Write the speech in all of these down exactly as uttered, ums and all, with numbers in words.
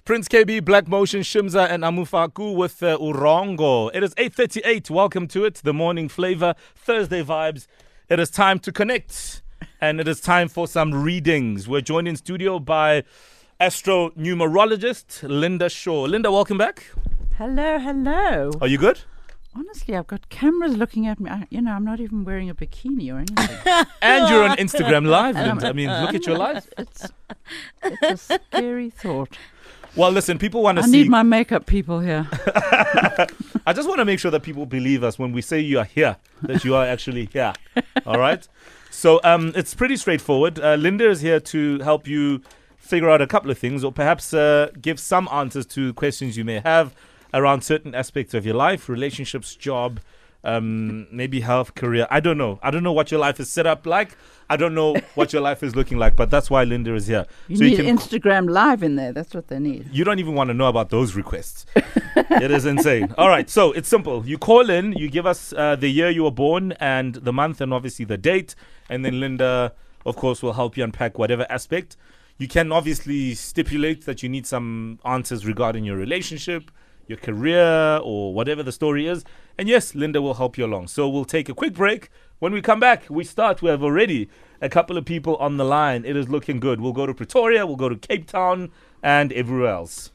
Prince K B, Black Motion, Shimza, and Amufaku with uh, Urongo. It is eight thirty-eight. Welcome to it. The morning flavor, Thursday vibes. It is time to connect, and it is time for some readings. We're joined in studio by astronumerologist Linda Shaw. Linda, welcome back. Hello, hello. Are you good? Honestly, I've got cameras looking at me. I, you know, I'm not even wearing a bikini or anything. And you're on Instagram Live, Linda. I mean, look at your life. It's, it's a scary thought. Well, listen, people want to I see... need my makeup people here. I just want to make sure that people believe us when we say you are here, that you are actually here. All right? So um, it's pretty straightforward. Uh, Linda is here to help you figure out a couple of things, or perhaps uh, give some answers to questions you may have around certain aspects of your life, relationships, job, um, maybe health, career. I don't know. I don't know what your life is set up like. I don't know what your life is looking like, but that's why Linda is here. You so need you can Instagram Live in there. That's what they need. You don't even want to know about those requests. It is insane. All right, so it's simple. You call in, you give us uh, the year you were born and the month and obviously the date, and then Linda, of course, will help you unpack whatever aspect. You can obviously stipulate that you need some answers regarding your relationship, your career, or whatever the story is. And yes, Linda will help you along. So we'll take a quick break. When we come back, we start. We have already a couple of people on the line. It is looking good. We'll go to Pretoria, we'll go to Cape Town, and everywhere else.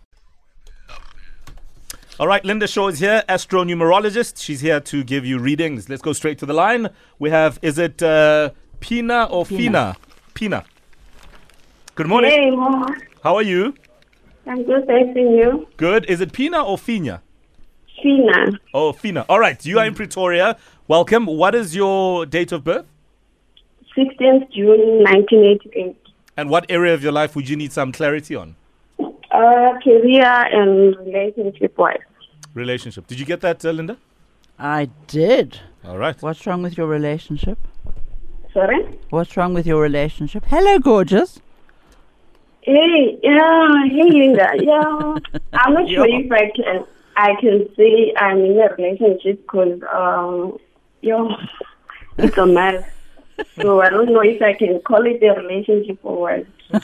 All right, Linda Shaw is here, astronumerologist. She's here to give you readings. Let's go straight to the line. We have, is it uh, Pina or Fina? Pina. Good morning. Hey, Mama. How are you? I'm good, thanks, and you? Good. Is it Pina or Fina? Fina. Oh, Fina. All right. You are in Pretoria. Welcome. What is your date of birth? sixteenth of June, nineteen eighty-eight. And what area of your life would you need some clarity on? Uh, career and relationship-wise. Relationship. Did you get that, uh, Linda? I did. All right. What's wrong with your relationship? Sorry? What's wrong with your relationship? Hello, gorgeous. Hey, yeah, hey, Linda. Yeah, I'm not sure if I can, I can say I'm in a relationship because, um, yo, it's a mess. So I don't know if I can call it a relationship or what.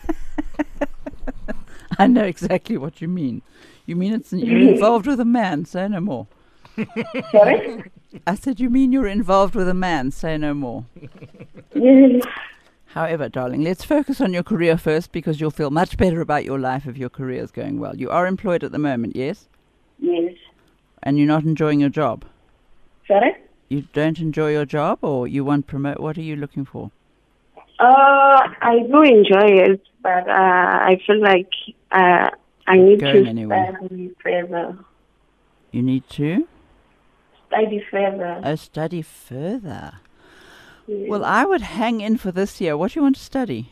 I know exactly what you mean. You mean it's you're involved with a man, say no more. Sorry? I said you mean you're involved with a man, say no more. Yes. However, darling, let's focus on your career first because you'll feel much better about your life if your career is going well. You are employed at the moment, yes? Yes. And you're not enjoying your job? Sorry? You don't enjoy your job or you want promote? What are you looking for? Uh, I do enjoy it, but uh, I feel like uh, I need Going to anywhere. study further. You need to? Study further. Oh, study further. Yes. Well, I would hang in for this year. What do you want to study?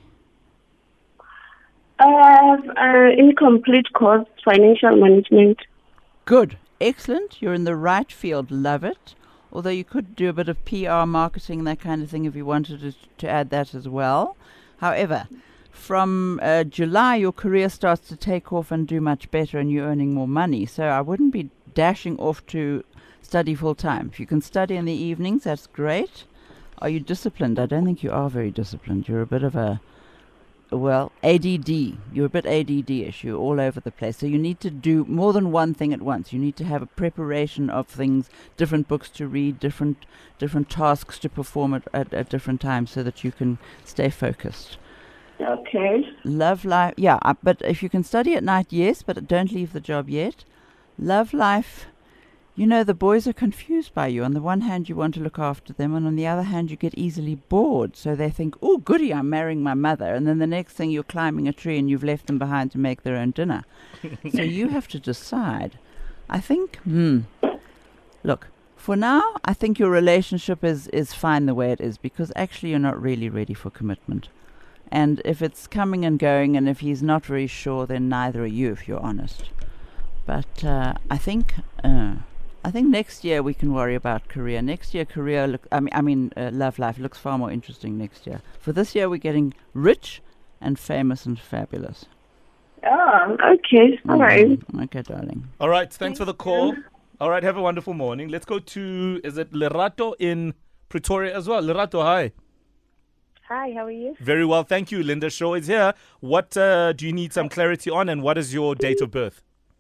Uh, uh, incomplete course, financial management. Good. Excellent. You're in the right field. Love it. Although you could do a bit of P R, marketing, that kind of thing if you wanted to, to add that as well. However, from uh, July, your career starts to take off and do much better and you're earning more money. So I wouldn't be dashing off to study full time. If you can study in the evenings, that's great. Are you disciplined? I don't think you are very disciplined. You're a bit of a, well, A D D. You're a bit A D D-ish. You're all over the place. So you need to do more than one thing at once. You need to have a preparation of things, different books to read, different different tasks to perform at, at, at different times so that you can stay focused. Okay. Love life. Yeah, uh, but if you can study at night, yes, but don't leave the job yet. Love life. You know, the boys are confused by you. On the one hand, you want to look after them, and on the other hand, you get easily bored. So they think, oh, goody, I'm marrying my mother. And then the next thing, you're climbing a tree and you've left them behind to make their own dinner. So you have to decide. I think, hmm, look, for now, I think your relationship is, is fine the way it is because actually you're not really ready for commitment. And if it's coming and going and if he's not very sure, then neither are you, if you're honest. But uh, I think... Uh, I think next year we can worry about career. Next year, career, look, I mean, I mean, uh, love life looks far more interesting next year. For this year, we're getting rich and famous and fabulous. Oh, okay. All right. Okay, darling. All right. Thanks for the call. All right. Have a wonderful morning. Let's go to, is it Lerato in Pretoria as well? Lerato, hi. Hi, how are you? Very well, thank you. Linda Shaw is here. What uh, do you need some clarity on, and what is your date of birth?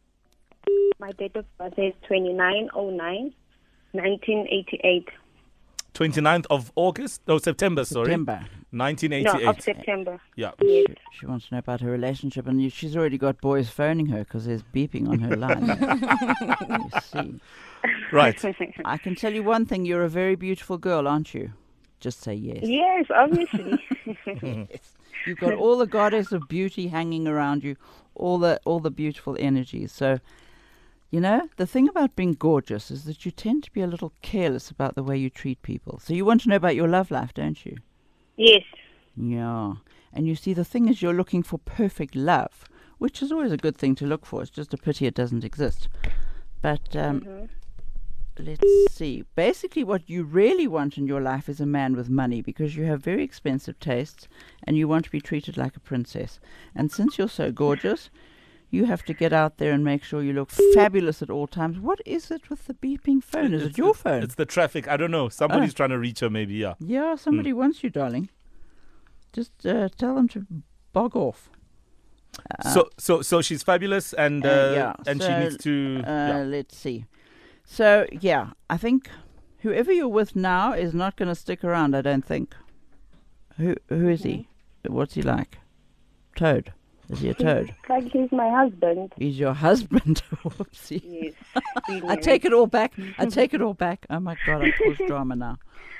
My date of birth is twenty-nine oh nine nineteen eighty-eight. twenty-ninth of August? No, September, sorry. September. nineteen No, eighty-eight. of September. Yeah. Yes. She, she wants to know about her relationship, and you, she's already got boys phoning her because there's beeping on her line. You see. Right. I can tell you one thing, you're a very beautiful girl, aren't you? Just say yes. Yes, obviously. Yes. You've got all the goddess of beauty hanging around you, all the all the beautiful energies. So, you know, the thing about being gorgeous is that you tend to be a little careless about the way you treat people. So you want to know about your love life, don't you? Yes. Yeah. And you see, the thing is, you're looking for perfect love, which is always a good thing to look for. It's just a pity it doesn't exist. But um, Mhm. let's see. Basically, what you really want in your life is a man with money, because you have very expensive tastes and you want to be treated like a princess. And since you're so gorgeous, you have to get out there and make sure you look fabulous at all times. What is it with the beeping phone? Is It's it your the- phone? It's the traffic. I don't know. Somebody's Oh. trying to reach her, maybe, yeah. Yeah, somebody wants you, darling. Just uh, tell them to bog off. Uh, so, so, so she's fabulous, and uh, Uh, yeah, and she so, needs to. Uh, yeah. Let's see. So, yeah, I think whoever you're with now is not going to stick around, I don't think. Who Who is he? What's he like? Toad. Is he a toad? He's like he's my husband. He's your husband. Whoopsie. Yes. I take it all back. I take it all back. Oh, my God, I cause drama now.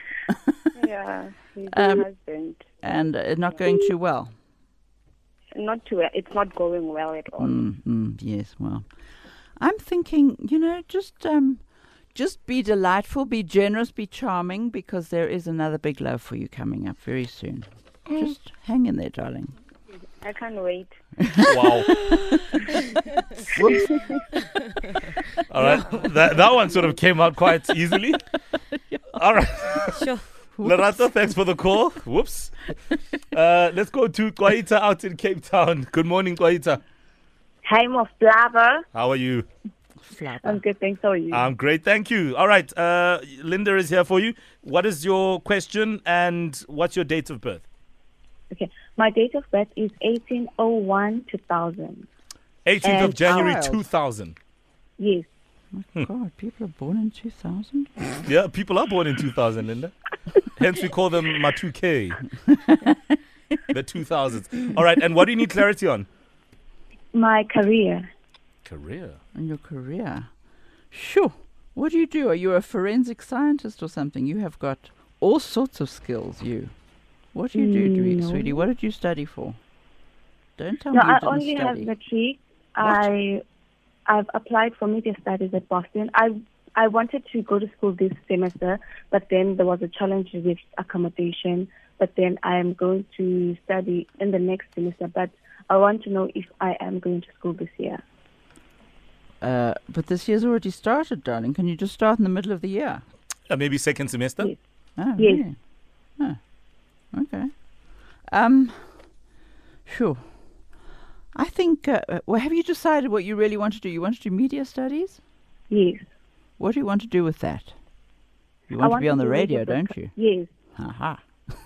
Yeah, he's Um, my husband. And uh, not going too well. Not too. It's not going well at all. Mm, mm, yes, well, I'm thinking, you know, just um, just be delightful, be generous, be charming, because there is another big love for you coming up very soon. Just hang in there, darling. I can't wait. Wow. Whoops. All right. That that one sort of came out quite easily. All right. Sure. Lerato, thanks for the call. Whoops. Uh, let's go to Kwaita out in Cape Town. Good morning, Kwaita. Hi, Mo Flava. How are you? I'm Flabber. good, thanks. How are you? I'm great, thank you. All right, uh, Linda is here for you. What is your question and what's your date of birth? Okay, my date of birth is eighteen oh one two thousand. eighteenth of And January child. two thousand. Yes. God, people are born in two thousand? Yeah, people are born in two thousand, Linda. Hence we call them Ma two K. The two thousands. All right, and what do you need clarity on? My career. Career. In your career. Sure. What do you do? Are you a forensic scientist or something? You have got all sorts of skills, you. What do you do, Dweet, No. sweetie? What did you study for? Don't tell No, me you I didn't only have study. matric. I I've applied for media studies at Boston. I I wanted to go to school this semester, but then there was a challenge with accommodation. But then I am going to study in the next semester. But I want to know if I am going to school this year. Uh, but this year's already started, darling. Can you just start in the middle of the year? Uh, maybe second semester? Yes. Oh, Yes. really? Oh, okay. Um, sure. I think, uh, uh, well, have you decided what you really want to do? You want to do media studies? Yes. What do you want to do with that? You I want to want be on to the do radio, radio don't you? Yes. Haha.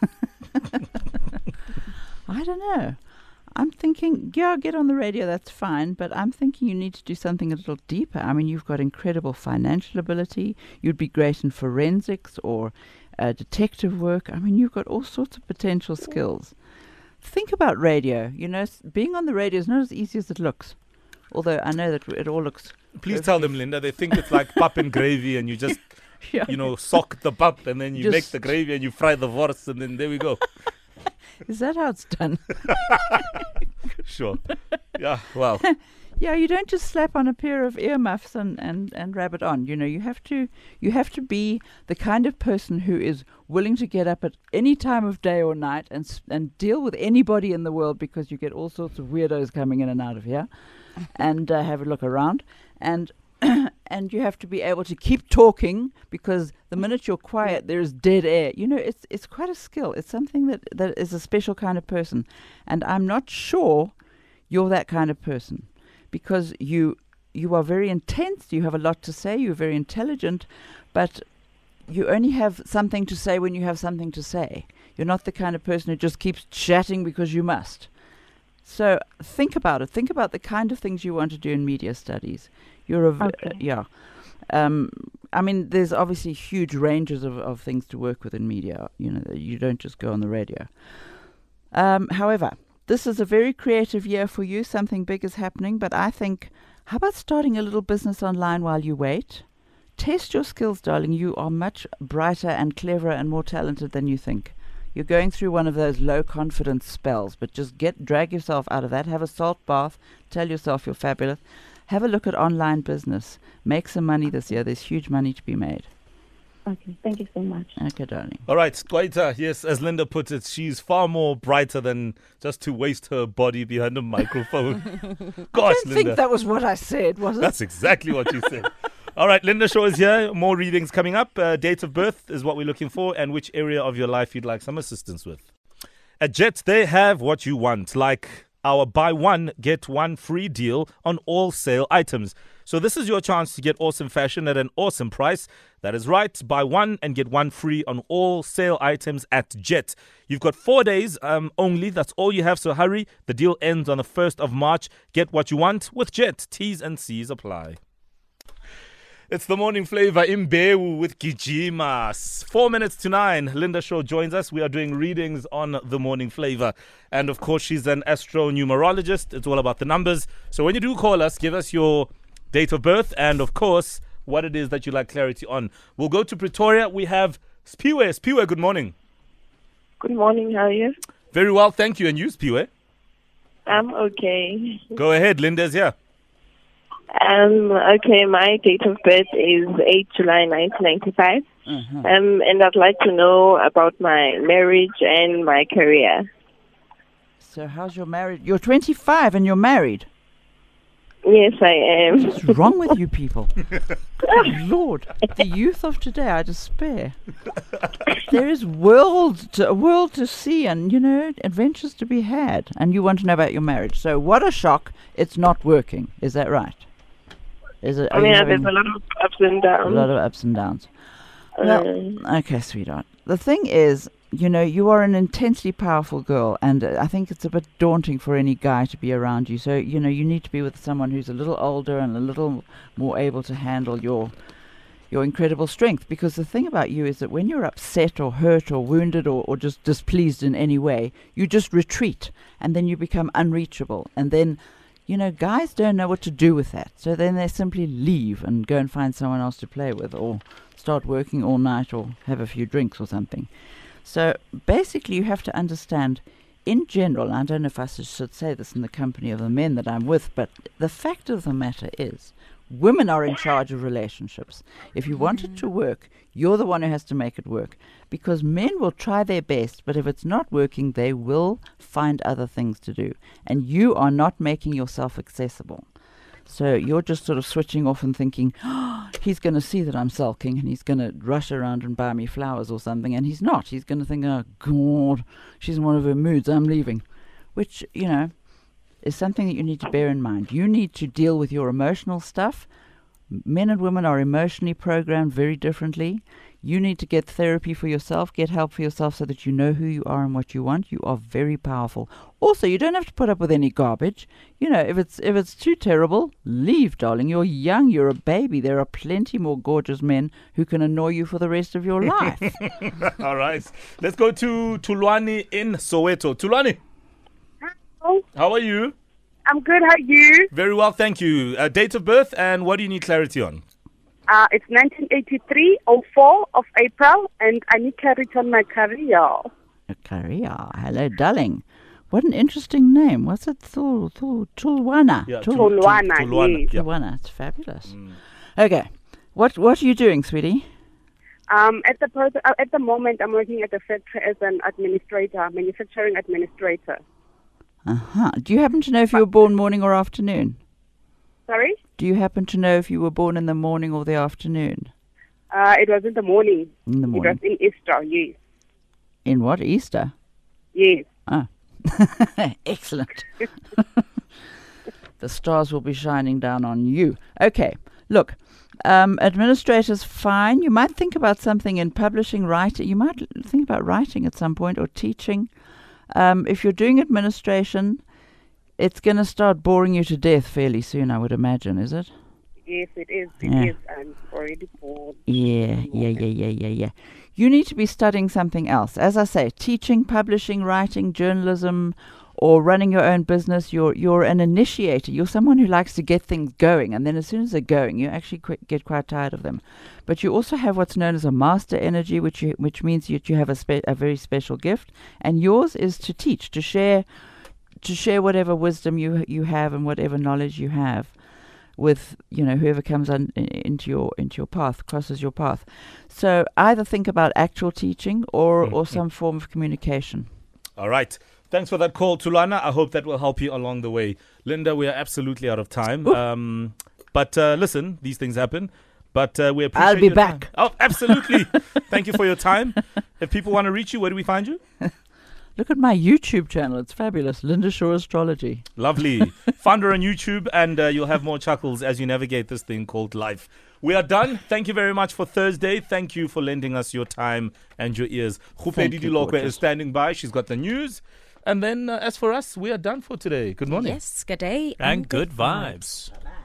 I don't know. I'm thinking, yeah, get on the radio, that's fine, but I'm thinking you need to do something a little deeper. I mean, you've got incredible financial ability. You'd be great in forensics or uh, detective work. I mean, you've got all sorts of potential skills. Think about radio. You know, s- being on the radio is not as easy as it looks. Although I know that it all looks, Please tell them, Linda. They think it's like pap and gravy, and you just, yeah, you know, sock the pap, and then you make Just- the gravy, and you fry the wors, and then there we go. is that how it's done? Sure. Yeah. Wow. Yeah, you don't just slap on a pair of earmuffs and, and, and rab it on. You know, you have to you have to be the kind of person who is willing to get up at any time of day or night and s- and deal with anybody in the world, because you get all sorts of weirdos coming in and out of here, and uh, have a look around, and and you have to be able to keep talking, because the minute you're quiet, there is dead air. You know, it's it's quite a skill. It's something that, that is a special kind of person, and I'm not sure you're that kind of person, because you you are very intense, you have a lot to say, you're very intelligent, but you only have something to say when you have something to say. You're not the kind of person who just keeps chatting because you must. So think about it. Think about the kind of things you want to do in media studies. You're a v- Okay. uh, yeah. Um, I mean, there's obviously huge ranges of, of things to work with in media. You know, you don't just go on the radio. Um, however, this is a very creative year for you. Something big is happening, but I think, how about starting a little business online while you wait? Test your skills, darling. You are much brighter and cleverer and more talented than you think. You're going through one of those low confidence spells, but just get drag yourself out of that. Have a salt bath. Tell yourself you're fabulous. Have a look at online business. Make some money this year. There's huge money to be made. Okay, thank you so much. Okay, darling. All right, Kwaita, yes, as Linda put it, she's far more brighter than just to waste her body behind a microphone. Gosh, I Linda. think that was what I said, was it? That's exactly what you said. All right, Linda Shaw is here. More readings coming up. Uh, date of birth is what we're looking for, and which area of your life you'd like some assistance with. At Jet, they have what you want, like our buy one, get one free deal on all sale items. So this is your chance to get awesome fashion at an awesome price. That is right. Buy one and get one free on all sale items at Jet. You've got four days um, only. That's all you have. So hurry. The deal ends on the first of March. Get what you want with Jet. T's and C's apply. It's the morning flavor in Bewu with Gijimas. Four minutes to nine. Linda Shaw joins us. We are doing readings on the morning flavor. And of course, she's an astronumerologist. It's all about the numbers. So when you do call us, give us your date of birth and, of course, what it is that you like clarity on. We'll go to Pretoria. We have Spiwe. Spiwe, good morning. Good morning, how are you? Very well, thank you. And you, Spiwe? I'm okay. Go ahead. Linda's here. Um, okay, my date of birth is the eighth of July nineteen ninety-five. Uh-huh. Um, and I'd like to know about my marriage and my career. So how's your marriage? You're twenty-five and you're married. Yes, I am. What's wrong with you people? Good Lord, the youth of today, I despair. There is world to, a world to see and, you know, adventures to be had. And you want to know about your marriage. So what a shock, it's not working. Is that right? Is it? I are mean, you there's having a lot of ups and a downs. lot of ups and downs? Well, Um, okay, sweetheart. The thing is, you know, you are an intensely powerful girl, and uh, I think it's a bit daunting for any guy to be around you. So, you know, you need to be with someone who's a little older and a little more able to handle your your incredible strength. Because the thing about you is that when you're upset or hurt or wounded or, or just displeased in any way, you just retreat, and then you become unreachable. And then, you know, guys don't know what to do with that. So then they simply leave and go and find someone else to play with, or start working all night, or have a few drinks or something. So basically you have to understand, in general, and I don't know if I should should say this in the company of the men that I'm with, but the fact of the matter is, women are in charge of relationships. If you want it to work, you're the one who has to make it work. Because men will try their best, but if it's not working, they will find other things to do. And you are not making yourself accessible. So you're just sort of switching off and thinking, oh, he's going to see that I'm sulking and he's going to rush around and buy me flowers or something. And he's not. He's going to think, oh, God, she's in one of her moods. I'm leaving. Which, you know, is something that you need to bear in mind. You need to deal with your emotional stuff. Men and women are emotionally programmed very differently. You need to get therapy for yourself, get help for yourself so that you know who you are and what you want. You are very powerful. Also, you don't have to put up with any garbage. You know, if it's if it's too terrible, leave, darling. You're young, you're a baby. There are plenty more gorgeous men who can annoy you for the rest of your life. All right. Let's go to Tulwani in Soweto. Tulwani, Hello. how are you? I'm good. How are you? Very well, thank you. Uh, date of birth and what do you need clarity on? Uh, it's nineteen eighty-three oh four of April, and I need clarity on my career. A career. Hello, darling. What an interesting name. What's it? Tul, Tul, Tulwana. Yeah, Tul- Tul- Tulwana, Tulwana, yes. yeah. Tulwana. It's fabulous. Okay. What What are you doing, sweetie? Um, at the pos- uh, at the moment, I'm working at a factory as an administrator, manufacturing administrator. Uh-huh. Do you happen to know if you were born morning or afternoon? Sorry? Do you happen to know if you were born in the morning or the afternoon? Uh, it was in the morning. In the It was morning. in Easter, yes. In what? Easter? Yes. Ah. Excellent. The stars will be shining down on you. Okay. Look, Um, administrator's fine. You might think about something in publishing, writing. You might think about writing at some point or teaching. Um, if you're doing administration, it's going to start boring you to death fairly soon, I would imagine, is it? Yes, it is. It Yeah. is. I'm already bored. Yeah, yeah, yeah, yeah, yeah, yeah. You need to be studying something else. As I say, teaching, publishing, writing, journalism, or running your own business. You're you're an initiator. You're someone who likes to get things going, and then as soon as they're going, you actually qu- get quite tired of them. But you also have what's known as a master energy, which you, which means that you have a spe- a very special gift, and yours is to teach, to share, to share whatever wisdom you you have and whatever knowledge you have with, you know, whoever comes on into your into your path, crosses your path. So either think about actual teaching or Mm, or mm. some form of communication. All right. Thanks for that call, Tulana. I hope that will help you along the way. Linda, we are absolutely out of time. Um, but uh, listen, these things happen. But uh, we appreciate I'll be your back. time. Oh, absolutely. Thank you for your time. If people want to reach you, where do we find you? Look at my YouTube channel. It's fabulous. Linda Shaw Astrology. Lovely. Find her on YouTube, and uh, you'll have more chuckles as you navigate this thing called life. We are done. Thank you very much for Thursday. Thank you for lending us your time and your ears. Thank Khupedi you, Dilokwe gorgeous. is standing by. She's got the news. And then, uh, as for us, we are done for today. Good morning. Yes, good day And good vibes.